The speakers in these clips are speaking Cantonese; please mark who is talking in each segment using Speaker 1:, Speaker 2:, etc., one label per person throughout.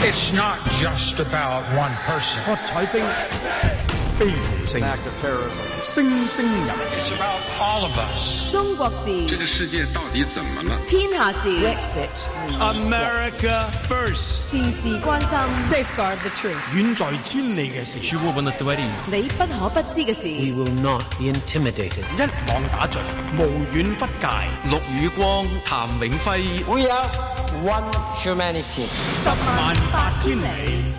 Speaker 1: It's not just about one person.
Speaker 2: 喝彩聲、悲鳴聲、聲聲入。
Speaker 1: It's about all of us.
Speaker 3: 中國事，
Speaker 4: 這個世界到底怎麼了？
Speaker 3: 天下事
Speaker 2: America first，
Speaker 3: 事事關心 Safeguard the truth，
Speaker 2: 遠在千里嘅事，
Speaker 3: 你不可不知嘅事。
Speaker 5: We will not be intimidated。
Speaker 2: 一網打盡，無遠弗屆。
Speaker 4: 陸宇光、譚永輝
Speaker 5: We are one humanity。
Speaker 2: 108000里。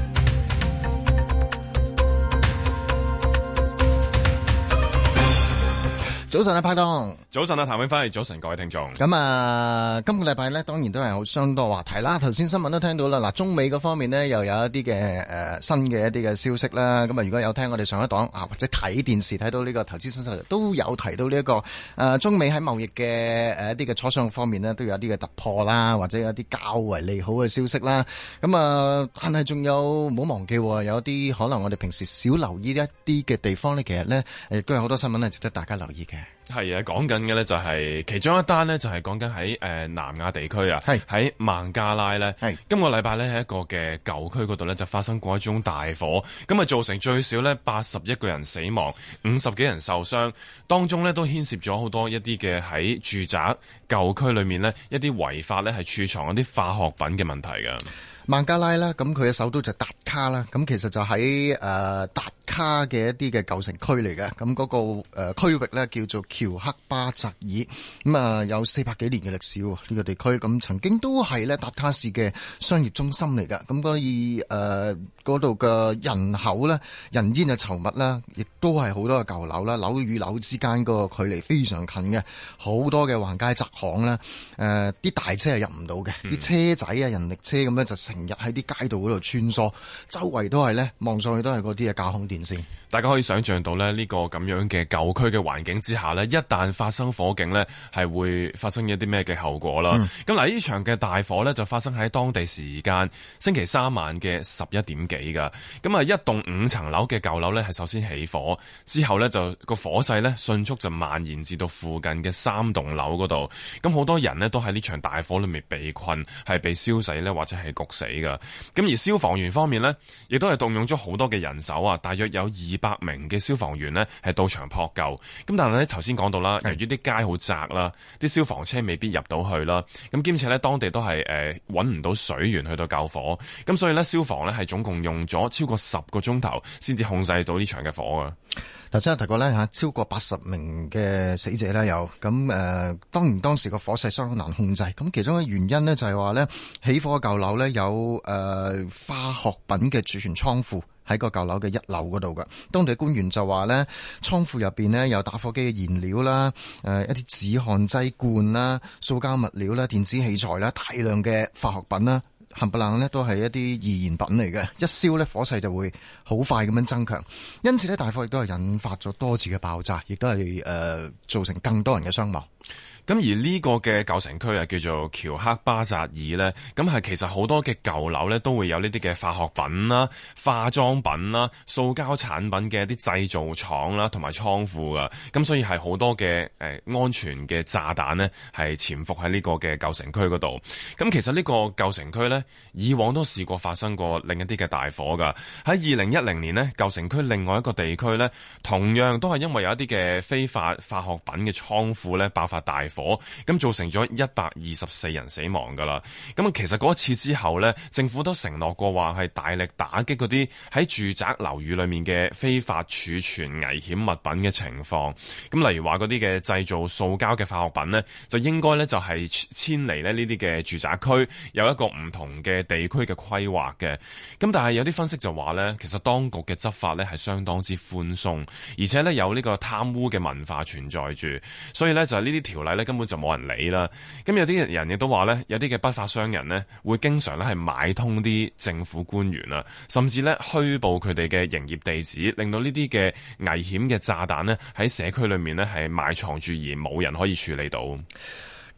Speaker 6: 早晨啊，拍檔。
Speaker 7: 早晨啊，譚永輝。早晨，各位聽眾。
Speaker 6: 咁啊，今個禮拜呢，當然都係好相當話題啦。頭先新聞都聽到啦，嗱，中美嗰方面呢，又有一啲嘅新嘅一啲嘅消息啦。咁啊，如果有聽我哋上一檔啊，或者睇電視睇到呢個投資新勢力，都有提到呢一個中美喺貿易嘅一啲嘅磋商方面呢，都有一啲嘅突破啦，或者有一啲較為利好嘅消息啦。咁啊，但係仲有唔好忘記，有啲可能我哋平時少留意一啲嘅地方呢，其實呢，亦都有好多新聞係值得大家留意嘅。
Speaker 7: 係啊，講緊嘅呢就係其中一單呢，就係講緊喺南亞地區啊，喺孟加拉呢。今個禮拜呢，喺一個嘅舊區嗰度呢，就發生過一宗大火，咁啊造成最少呢81個人死亡，50幾人受傷，當中呢，都牽涉咗好多一啲嘅喺住宅舊區裏面呢，一啲違法呢係儲藏一啲化學品嘅問題㗎。
Speaker 6: 孟加拉啦，咁佢嘅首都就達卡啦，咁其實就喺達卡嘅一啲嘅舊城區嚟嘅，咁嗰個區域咧叫做喬克巴扎爾，咁啊有400幾年嘅歷史喎，呢個地區咁曾經都係咧達卡市嘅商業中心嚟㗎，咁所以嗰度嘅人口咧人煙嘅稠密啦，亦都係好多嘅舊樓啦，樓與樓之間個距離非常近嘅，好多嘅橫街窄巷啦，啲大車係入唔到嘅，啲車仔啊人力車咁咧就成日喺啲街道嗰度穿梭，周圍都係咧望上去都係嗰啲嘅架空電線。
Speaker 7: 大家可以想象到咧呢個咁樣嘅舊區嘅環境之下咧，一旦發生火警咧，係會發生一啲咩嘅後果啦。咁嗱，呢場嘅大火咧就發生喺當地時間星期三晚嘅11點幾㗎。咁啊，一棟5層樓嘅舊樓咧係首先起火，之後咧就個火勢咧迅速就蔓延至到附近嘅3棟樓嗰度。咁好多人咧都喺呢場大火裏面被困，係被燒死咧或者係焗死㗎。咁而消防員方面咧，亦都係動用咗好多嘅人手啊，大約有200名嘅消防員呢係到場撲救，咁但係咧頭先講到啦，由於啲街好窄啦，啲消防車未必入到去啦，咁兼且咧當地都係揾唔到水源去到救火，咁所以咧消防咧係總共用咗超過10個鐘頭先至控制到呢場嘅火啊。
Speaker 6: 頭先有提過咧嚇，超過80名嘅死者咧有，咁當然當時個火勢相當難控制，咁其中嘅原因呢，就係話咧起火嘅舊樓咧有化學品嘅儲存倉庫喺個舊樓嘅1樓嗰度㗎。當地官員就話咧倉庫入邊呢有打火機嘅燃料啦，一啲止汗劑罐啦、塑膠物料啦、電子器材啦、大量嘅化學品啦。冚唪唥呢都係一啲易燃品嚟嘅，一燒呢火勢就會好快咁樣增強，因此呢大火亦都係引發咗多次嘅爆炸，亦都係造成更多人嘅傷亡。
Speaker 7: 咁而呢個嘅舊城區啊，叫做喬克巴扎爾呢，咁係其實好多嘅舊樓呢都會有呢啲嘅化學品啦、化妝品啦、塑膠產品嘅一啲製造廠啦同埋倉庫噶，咁所以係好多嘅安全嘅炸彈呢係潛伏喺呢個嘅舊城區嗰度。咁其實呢個舊城區呢，以往都試過發生過另一啲嘅大火噶。喺2010年呢，舊城區另外一個地區呢，同樣都係因為有一啲嘅非法化學品嘅倉庫呢爆發大火，咁造成咗124人死亡噶啦。咁其實嗰一次之後呢，政府都承諾過話係大力打擊嗰啲喺住宅樓宇裏面嘅非法儲存危險物品嘅情況。咁例如話嗰啲嘅製造塑膠嘅化學品呢，就應該呢就係遷離呢啲嘅住宅區，有一個唔同嘅地區嘅規劃嘅。咁但係有啲分析就話呢，其實當局嘅執法呢係相當之寬鬆，而且呢有呢個貪污嘅文化存在住，所以呢就係呢啲條例呢根本就冇人理啦。咁有啲人亦都話呢，有啲嘅不法商人呢會經常呢係買通啲政府官員啊，甚至呢虛報佢哋嘅營業地址，令到呢啲嘅危險嘅炸彈呢喺社區裏面呢係埋藏住而冇人可以處理到。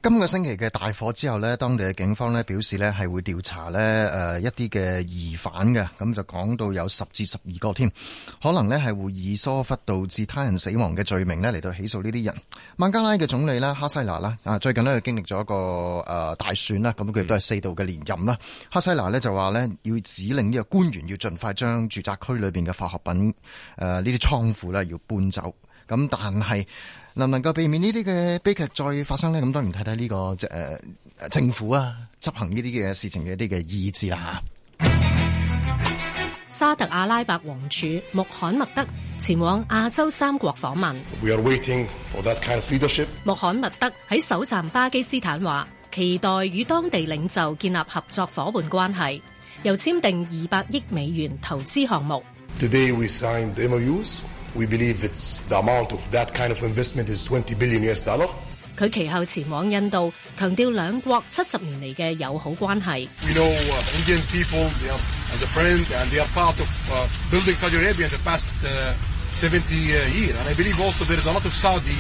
Speaker 6: 今個星期嘅大火之後呢，當地嘅警方呢表示呢係會調查呢一啲嘅疑犯嘅，咁就講到有10至12個添，可能呢係會以疏忽導致他人死亡嘅罪名呢嚟到起訴呢啲人。孟加拉嘅總理啦，哈西娜啦，最近呢經歷咗一個大選啦，咁佢都係4度嘅連任啦。哈西娜呢就話呢要指令呢個官員要盡快將住宅區裏邊嘅化學品呢啲倉庫呢要搬走。咁但係能唔能夠避免呢啲嘅悲劇再發生呢？咁當然睇睇呢個政府啊執行呢啲嘅事情嘅一啲嘅意志啦嚇。
Speaker 8: 沙特阿拉伯王儲穆罕默德前往亞洲3國訪問。
Speaker 9: We are waiting for that kind of leadership.
Speaker 8: 穆罕默德喺首站巴基斯坦話，期待與當地領袖建立合作夥伴關係，又簽訂200億美元投資項目。
Speaker 9: Today we signed MOUs.We believe it's the amount of that kind of investment is $20 billion.
Speaker 8: 佢其後前往印度，強調兩國70年嚟嘅友好關係。
Speaker 9: We know Indian people, they are as a friend, and they are part of building Saudi Arabia in the past 70 years. And I believe also there is a lot of Saudi.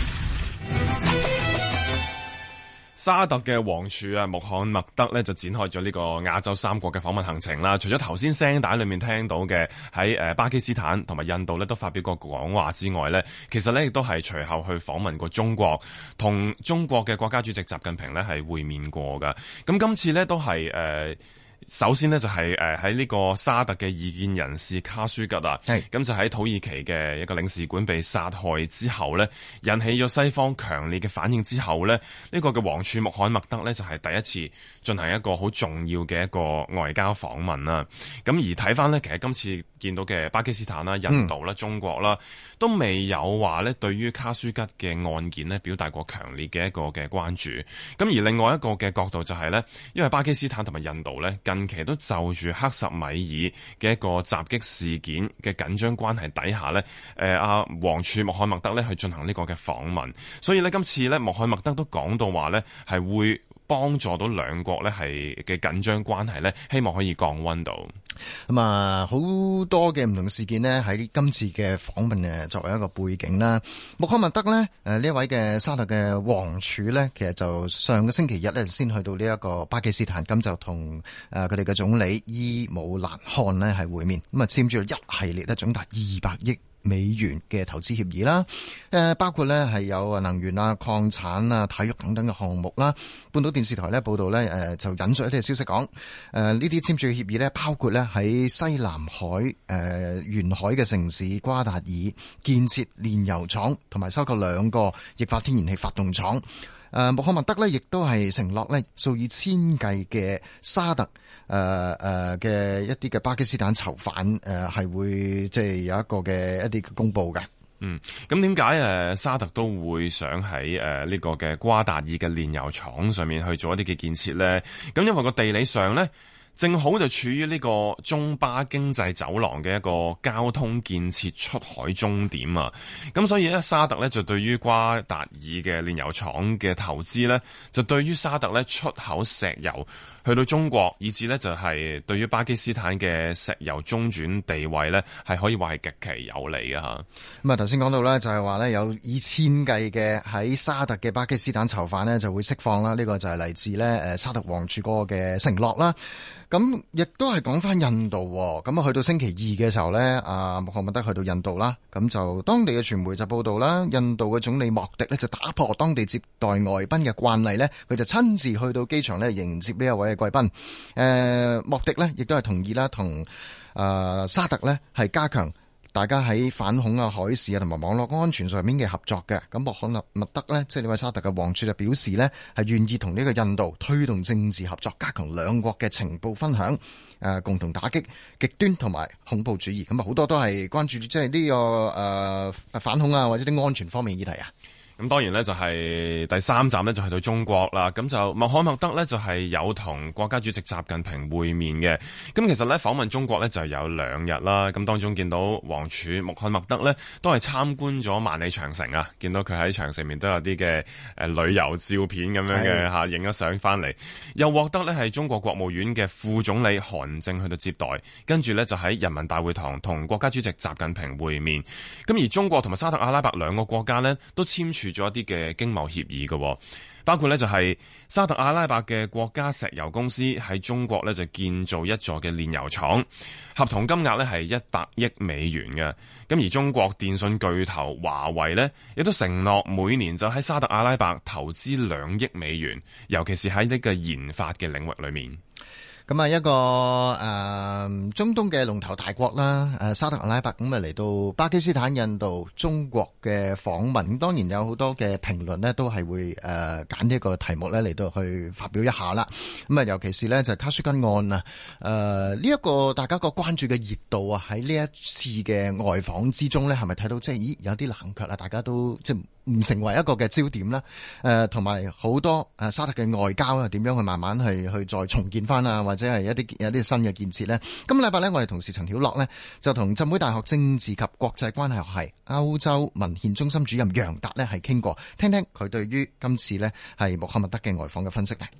Speaker 7: 沙特嘅王儲啊，穆罕默德呢就展開咗呢個亞洲3國嘅訪問行程啦。除咗頭先聲帶裏面聽到嘅喺巴基斯坦同埋印度呢都發表過講話之外呢，其實呢亦都係隨後去訪問過中國，同中國嘅國家主席習近平呢係會面過㗎。咁今次呢都係首先呢，就係喺呢個沙特嘅異見人士卡舒吉啊，咁就喺土耳其嘅一個領事館被殺害之後呢，引起咗西方強烈嘅反應之後呢，呢個嘅王儲穆罕默德呢，就係第一次進行一個好重要嘅一個外交訪問啦。咁而睇翻呢，其實今次見到嘅巴基斯坦啦、印度啦、中國啦，都未有話呢對於卡舒吉嘅案件呢表達過強烈嘅一個嘅關注。咁而另外一個嘅角度就係呢，因為巴基斯坦同埋印度呢，近期都就住克什米爾嘅一個襲擊事件嘅緊張關係底下呢，王儲穆罕默德呢去進行呢個嘅訪問，所以呢，今次呢，穆罕默德都講到話呢係會幫助到兩國呢係嘅緊張關係呢，希望可以降溫到。
Speaker 6: 咁啊，好多嘅唔同事件呢，喺今次嘅訪問作為一個背景啦。穆罕默德呢，呢一位嘅沙特嘅王儲呢，其實就上個星期日呢先去到呢一個巴基斯坦，咁就同佢哋嘅總理伊姆蘭汗呢係會面，咁啊簽署咗一系列呢總達200億美元嘅投資協議啦，包括呢係有能源啊、礦產啊、體育等等嘅項目啦。半島電視台呢報道呢，就引述一啲消息講，呢啲簽署嘅協議呢，包括呢喺西南海沿海嘅城市瓜達爾建設煉油廠，同埋收購2個液化天然氣發動廠。穆罕默德呢亦都係承諾呢數以千計嘅沙特嘅一啲嘅巴基斯坦囚犯係會即係有一個嘅一啲公佈嘅。
Speaker 7: 咁點解沙特都會想喺呢個嘅瓜達爾嘅煉油廠上面去做一啲嘅建設呢？咁因為個地理上呢，正好就處於呢個中巴經濟走廊嘅一個交通建設出海終點啊！咁所以咧，沙特咧就對於瓜達爾嘅煉油廠嘅投資咧，就對於沙特咧出口石油去到中國，以至咧就係對於巴基斯坦嘅石油中轉地位咧，係可以話係極其有利嘅嚇。
Speaker 6: 咁啊頭先講到咧，就係話咧有以千計嘅喺沙特嘅巴基斯坦囚犯咧就會釋放啦。呢個就係嚟自咧沙特王儲嗰個嘅承諾啦。咁亦都係講翻印度，咁啊去到星期二嘅時候咧，穆罕默德去到印度啦，咁就當地嘅傳媒就報道啦，印度嘅總理莫迪咧就打破當地接待外賓嘅慣例咧，佢就親自去到機場咧迎接呢一位嘅貴賓。莫迪咧亦都係同意啦，同沙特咧係加強大家喺反恐啊、海事啊同埋網絡安全上面嘅合作嘅。咁穆罕默德呢，即係呢位沙特嘅王儲就表示呢，係願意同呢個印度推動政治合作，加強兩國嘅情報分享，共同打擊極端同埋恐怖主義。咁啊好多都係關注即係呢個反恐啊或者啲安全方面議題啊。
Speaker 7: 咁當然咧就係第三站咧就去到中國啦，咁就穆罕默德咧就係有同國家主席習近平會面嘅。咁其實咧訪問中國咧就有2日啦，咁當中見到王儲穆罕默德咧都係參觀咗萬里長城啊，見到佢喺長城面都有啲嘅旅遊照片咁樣嘅嚇，影咗相翻嚟，又獲得咧係中國國務院嘅副總理韓正去到接待，跟住咧就喺人民大會堂同國家主席習近平會面。咁而中國同埋沙特阿拉伯2個國家咧都簽署署咗一啲嘅經貿協議嘅，包括呢就係沙特阿拉伯嘅國家石油公司喺中國呢就建造一座嘅煉油廠，合同金額呢係100億美元嘅。咁而中國電信巨頭華為呢亦都承諾每年就喺沙特阿拉伯投資2億美元，尤其是喺呢個研發嘅領域裏面。
Speaker 6: 咁啊，一個中東嘅龍頭大國啦，沙特阿拉伯咁啊嚟到巴基斯坦、印度、中國嘅訪問，當然有好多嘅評論呢都係會揀呢個題目呢嚟到去發表一下啦。咁啊，尤其是呢就卡舒吉案啊，呢一個大家個關注嘅熱度啊，喺呢一次嘅外訪之中呢，係咪睇到即係有啲冷卻啊？大家都即係唔成為一個嘅焦點啦。同埋好多沙特嘅外交啊，點樣去慢慢去再重建翻啊，或者係有啲新嘅建設呢。今個禮拜呢，我哋同事陳曉樂呢，就同浸會大學政治及國際關係學系歐洲文獻中心主任楊達呢係傾過，聽聽佢對於今次呢係穆罕默德嘅外訪嘅分析呢。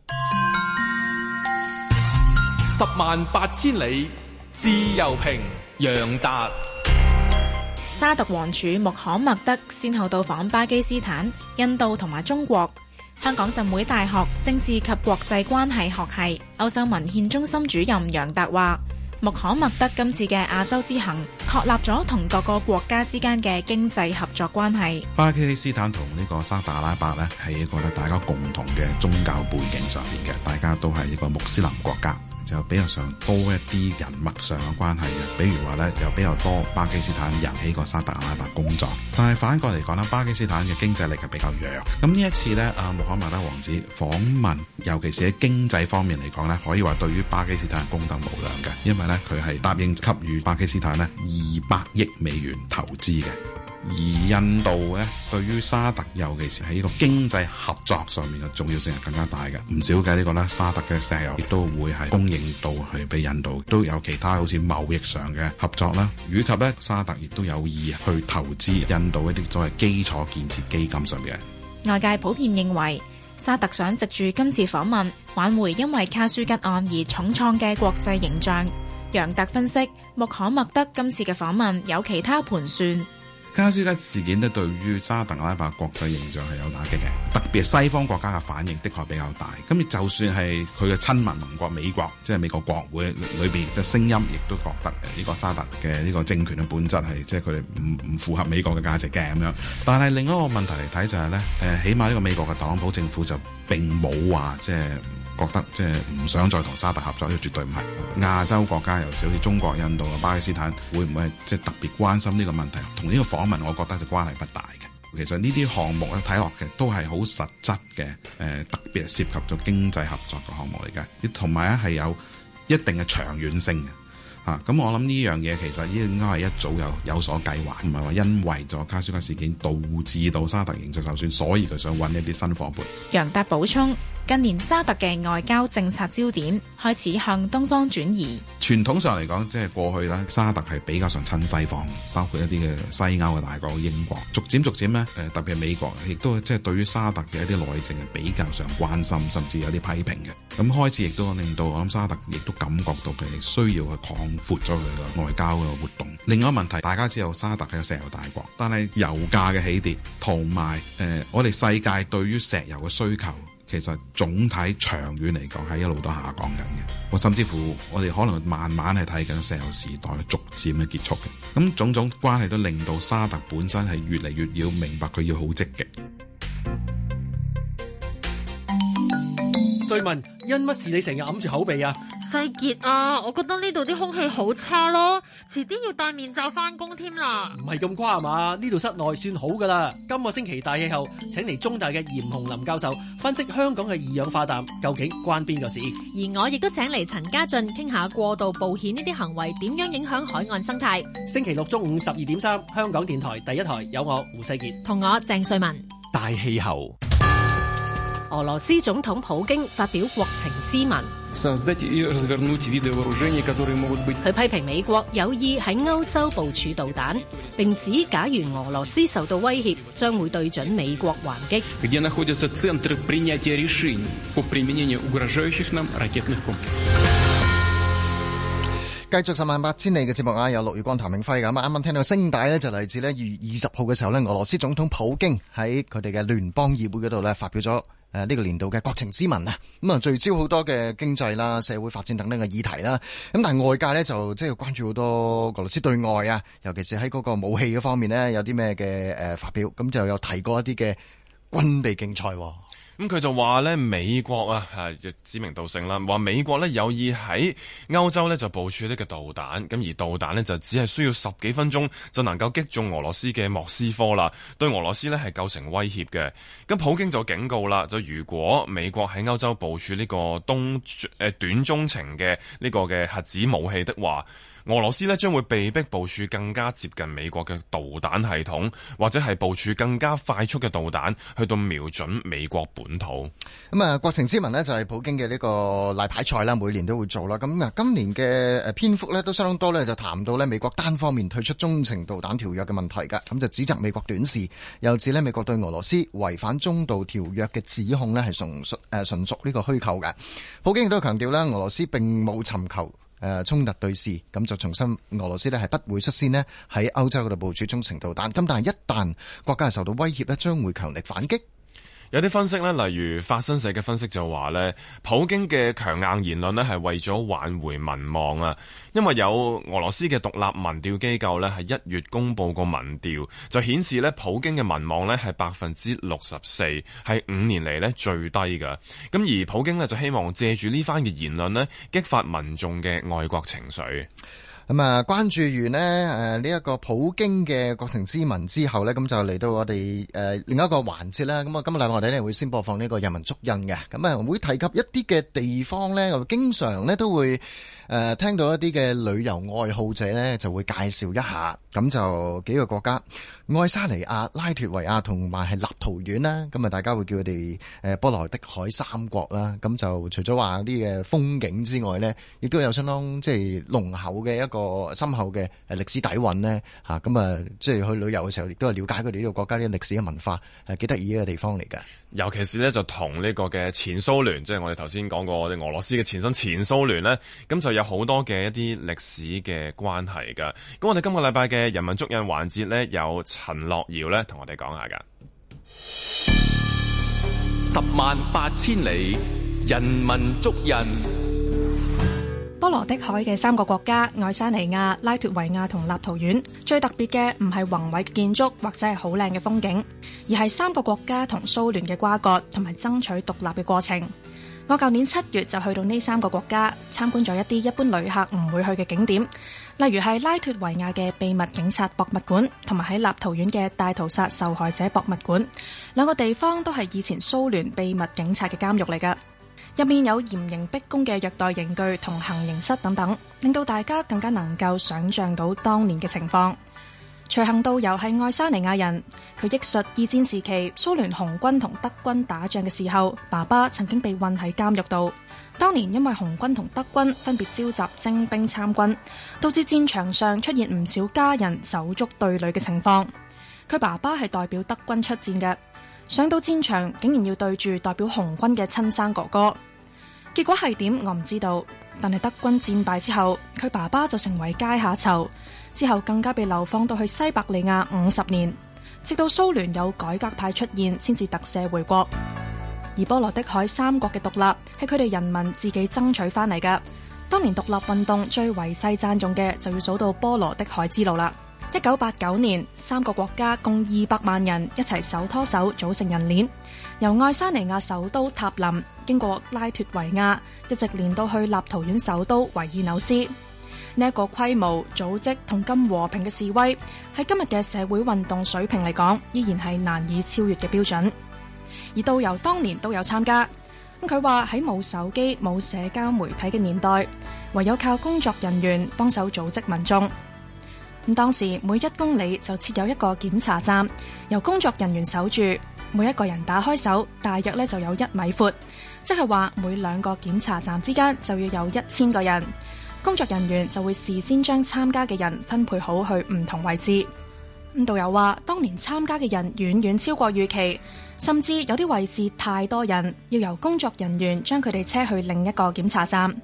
Speaker 2: 108000里自由評，楊達。
Speaker 10: 沙特王儲穆罕默德先後到訪巴基斯坦、印度同埋中國。香港浸會大學政治及國際關係學系歐洲文獻中心主任楊達話，穆罕默德今次嘅亞洲之行確立咗同各個國家之間嘅經濟合作關係。
Speaker 11: 巴基斯坦同呢個沙特阿拉伯呢，係一個大家共同嘅宗教背景上面嘅，大家都係一個穆斯林國家，就比較上多一啲人脈上嘅關係嘅，比如話呢，有比較多巴基斯坦人喺個沙特阿拉伯工作，但係反過嚟講啦，巴基斯坦嘅經濟力係比較弱。咁呢一次呢，穆罕默德王子訪問，尤其是喺經濟方面嚟講呢，可以話對於巴基斯坦功德無量嘅，因為呢，佢係答應給予巴基斯坦呢200億美元投資嘅。而印度咧，對於沙特尤其是喺呢個經濟合作上面嘅重要性係更加大嘅。唔少嘅呢個咧，沙特嘅石油亦都會係供應到去俾印度，都有其他好似貿易上嘅合作啦，以及咧沙特亦都有意去投資印度一啲所謂基礎建設基金上面嘅。
Speaker 10: 外界普遍認為沙特想藉住今次訪問挽回因為卡舒吉案而重創嘅國際形象。楊達分析，穆罕默德今次嘅訪問有其他盤算。
Speaker 11: 卡舒吉事件咧，對於沙特阿拉伯國際形象係有打擊嘅，特別係西方國家嘅反應的確比較大。咁就算係佢嘅親民盟國美國，即係美國國會裏邊嘅聲音，亦都覺得呢個沙特嘅呢個政權嘅本質係即係佢哋唔符合美國嘅價值嘅咁樣。但係另一個問題嚟睇就係咧，起碼呢個美國嘅特朗普政府就並冇話即係覺得即係唔想再同沙特合作，呢個絕對唔係。亞洲國家尤其好似中國、印度啊、巴基斯坦，會唔會係即係特別關心呢個問題？同呢個訪問，我覺得就關係不大嘅。其實呢啲項目咧睇落嘅都係好實質嘅，特別係涉及咗經濟合作嘅項目嚟嘅，同埋咧係有一定嘅長遠性嘅。咁我諗呢樣嘢其實應該係一早有所計劃，唔係話因為咗卡舒吉事件導致到沙特形象受損，所以佢想揾一啲新夥伴。
Speaker 10: 楊達補充，近年沙特嘅外交政策焦點開始向東方轉移。
Speaker 11: 傳統上嚟講，即係過去咧，沙特係比較上親西方，包括一啲嘅西歐嘅大國英國，逐漸咧，特別係美國，亦都即係對於沙特嘅一啲內政係比較上關心，甚至有啲批評嘅。咁開始亦都令到我諗沙特亦都感覺到佢哋需要去擴闊咗佢嘅外交嘅活動。另外一個問題，大家知道沙特係個石油大國，但係油價嘅起跌同埋我哋世界對於石油嘅需求，其實總體長遠嚟講係一路都下降緊嘅。甚至乎我哋可能慢慢係睇緊石油時代逐漸嘅結束嘅。咁種種關係都令到沙特本身係越嚟越要明白佢要好積極。
Speaker 12: 瑞文，因乜事你成日揞住口鼻啊？
Speaker 13: 世傑啊，我覺得呢度啲空氣好差咯，遲啲要戴面罩翻工添啦。
Speaker 12: 唔係咁誇嘛，呢度室內算好噶啦。今個星期大氣候，請嚟中大嘅嚴洪林教授分析香港嘅二氧化氮究竟關邊個事。
Speaker 8: 而我亦都請嚟陳家俊傾下過度冒險呢啲行為點樣影響海岸生態。
Speaker 12: 星期六中午12.3，香港電台第一台有我胡世傑
Speaker 8: 同我鄭瑞文。
Speaker 2: 大氣候。
Speaker 8: 俄羅斯總統普京發表國情咨文，佢批評美國有意喺歐洲部署導彈，並指假如俄羅斯受到威脅，將會對準美國還擊。
Speaker 6: 繼續十萬八千里嘅節目啊，有陸宇光、譚永輝咁啊。啱啱聽到聲帶呢，就嚟自呢2月20號嘅時候呢，俄羅斯總統普京喺佢哋嘅聯邦議會嗰度呢，發表咗呢個年度嘅國情咨文啊。咁啊，聚焦好多嘅經濟啦、社會發展等等嘅議題啦。咁但係外界呢，就即係關注好多俄羅斯對外啊，尤其是喺嗰個武器嘅方面呢，有啲咩嘅發表，咁就有提過一啲嘅軍備競賽。
Speaker 7: 咁佢就話咧，美國啊，指名道姓啦，話美國咧有意喺歐洲咧就部署呢個導彈，咁而導彈呢，就只係需要10幾分鐘就能夠擊中俄羅斯嘅莫斯科啦，對俄羅斯呢係構成威脅嘅。咁普京就警告啦，就如果美國喺歐洲部署呢個短中程嘅呢個嘅核子武器的話，俄羅斯呢將會被逼部署更加接近美國嘅導彈系統，或者係部署更加快速嘅導彈去到瞄準美國本土。
Speaker 6: 咁啊，國情咨文呢就係普京嘅呢個例牌賽啦，每年都會做啦。咁啊，今年嘅篇幅呢都相當多呢，就談到呢美國單方面退出中程導彈條約嘅問題㗎。咁就指責美國短視，又指呢美國對俄羅斯違反中導條約嘅指控呢係純屬呢個虛構嘅。普京亦都強調啦，俄羅斯並冇尋求衝突對峙，咁就重申俄羅斯呢係不會率先呢喺歐洲嗰度部署中程導彈，咁但係一旦國家係受到威脅呢，將會強力反擊。
Speaker 7: 有啲分析呢，例如法新社嘅分析就話呢，普京嘅強硬言論呢係為咗挽回民望啊，因為有俄羅斯嘅獨立民調機構呢係1月公布個民調，就顯示呢普京嘅民望呢係64%，係5年嚟呢最低㗎。咁而普京呢就希望借住呢番嘅言論呢激發民眾嘅愛國情緒。
Speaker 6: 咁啊，關注完呢一個普京嘅國情咨文之後呢，咁就嚟到我哋另一個環節啦。咁啊，今日禮拜我哋呢會先播放呢個人民足印嘅，咁啊會提及一啲嘅地方呢，經常呢都會聽到一啲嘅旅遊愛好者呢就會介紹一下。咁就幾個國家，愛沙尼亞、拉脫維亞同埋係立陶宛啦。咁啊，大家會叫佢哋波羅的海三國啦。咁就除咗話啲嘅風景之外呢，亦都有相當即係濃厚嘅一個深厚嘅歷史底蘊呢。嚇。咁啊，即係去旅遊嘅時候，亦都係了解佢哋呢個國家啲歷史嘅文化，係幾得意嘅地方嚟㗎。
Speaker 7: 尤其是呢，就同呢個嘅前蘇聯，即係我哋頭先講過俄羅斯嘅前身前蘇聯呢，咁就有好多嘅一啲歷史嘅關係㗎。咁我哋今個禮拜嘅人民足印環節呢，有陳樂瑤呢同我哋講下㗎。
Speaker 14: 10萬8千里，人民足印。
Speaker 10: 波羅的海嘅3個國家愛沙尼亞、拉脫維亞同立陶宛，最特別嘅唔係宏偉嘅建築或者係好靚嘅風景，而係3個國家同蘇聯嘅瓜葛同埋爭取獨立嘅過程。我舊年7月就去到呢3個國家參觀咗一啲一般旅客唔會去嘅景點，例如係拉脫維亞嘅秘密警察博物館，同埋喺立陶宛嘅大屠殺受害者博物館。兩個地方都係以前蘇聯秘密警察嘅監獄嚟㗎。入面有嚴刑逼供嘅虐待刑具同行刑室等等，令到大家更加能夠想像到當年嘅情況。隨行導遊係愛沙尼亞人，佢憶述二戰時期蘇聯紅軍同德軍打仗嘅時候，爸爸曾經被困喺監獄度。當年因為紅軍同德軍分別召集徵兵參軍，導致戰場上出現唔少家人手足對壘嘅情況。佢爸爸係代表德軍出戰嘅，上到戰場竟然要對住代表紅軍嘅親生哥哥。結果係點我唔知道，但係德軍戰敗之後，佢爸爸就成為階下囚，之後更加被流放到去西伯利亞50年，直到蘇聯有改革派出現先至特赦回國。而波羅的海3國嘅獨立係佢哋人民自己爭取翻嚟㗎。當年獨立運動最為世讚頌嘅就要數到波羅的海之路啦。1989年3個國家共200萬人一齊手拖手組成人鏈，由愛沙尼亞首都塔林經過拉脫維亞，一直連到去立陶宛首都維爾紐斯。呢一個規模、組織同咁和平嘅示威，喺今日嘅社會運動水平嚟講，依然係難以超越嘅標準。而導遊當年都有參加，佢話喺冇手機、冇社交媒體嘅年代，唯有靠工作人員幫手組織民眾。咁當時每1公里就設有一個檢查站，由工作人員守住，每一個人打開手，大約就有1米闊，即係話每2個檢查站之間就要有1000個人。工作人員就會事先將參加嘅人分配好去唔同位置。導遊話，當年參加嘅人遠遠超過預期，甚至有啲位置太多人，要由工作人員將佢哋車去另一個檢查站。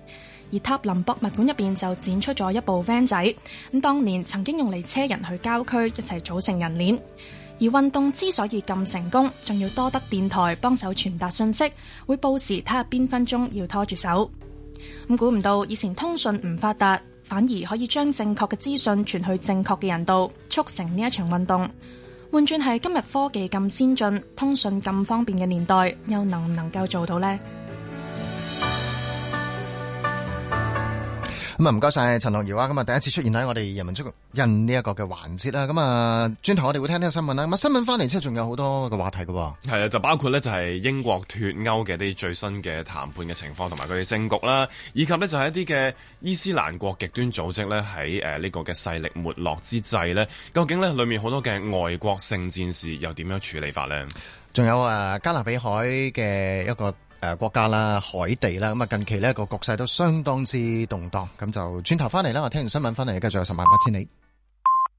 Speaker 15: 而塔林博物館入邊就展出咗一部 van 仔，咁當年曾經用嚟車人去郊區一齊組成人鏈。而運動之所以咁成功，仲要多得電台幫手傳達信息，會報時睇下邊分鐘要拖住手。咁估唔到以前通訊唔發達，反而可以將正確嘅資訊傳去正確嘅人度，促成呢一場運動。換轉係今日科技咁先進，通訊咁方便嘅年代，又能唔能夠做到呢？
Speaker 6: 咁啊，唔該晒陳樂瑤啊！咁啊，第一次出現喺我哋人文足印呢一個嘅環節啦。咁啊，轉頭我哋會聽聽新聞啦。咁啊，新聞翻嚟之後仲有好多嘅話題㗎。係
Speaker 7: 啊，就包括咧就係英國脫歐嘅啲最新嘅談判嘅情況，同埋佢哋政局啦，以及咧就係一啲嘅伊斯蘭國極端組織咧喺呢個嘅勢力沒落之際咧，究竟咧裏面好多嘅外國聖戰士又點樣處理法咧？
Speaker 6: 仲有加勒比海嘅一個國家啦，海地啦，咁啊近期呢個局勢都相當之動盪，咁就轉頭翻嚟啦，我聽完新聞翻嚟，繼續有10萬8千里。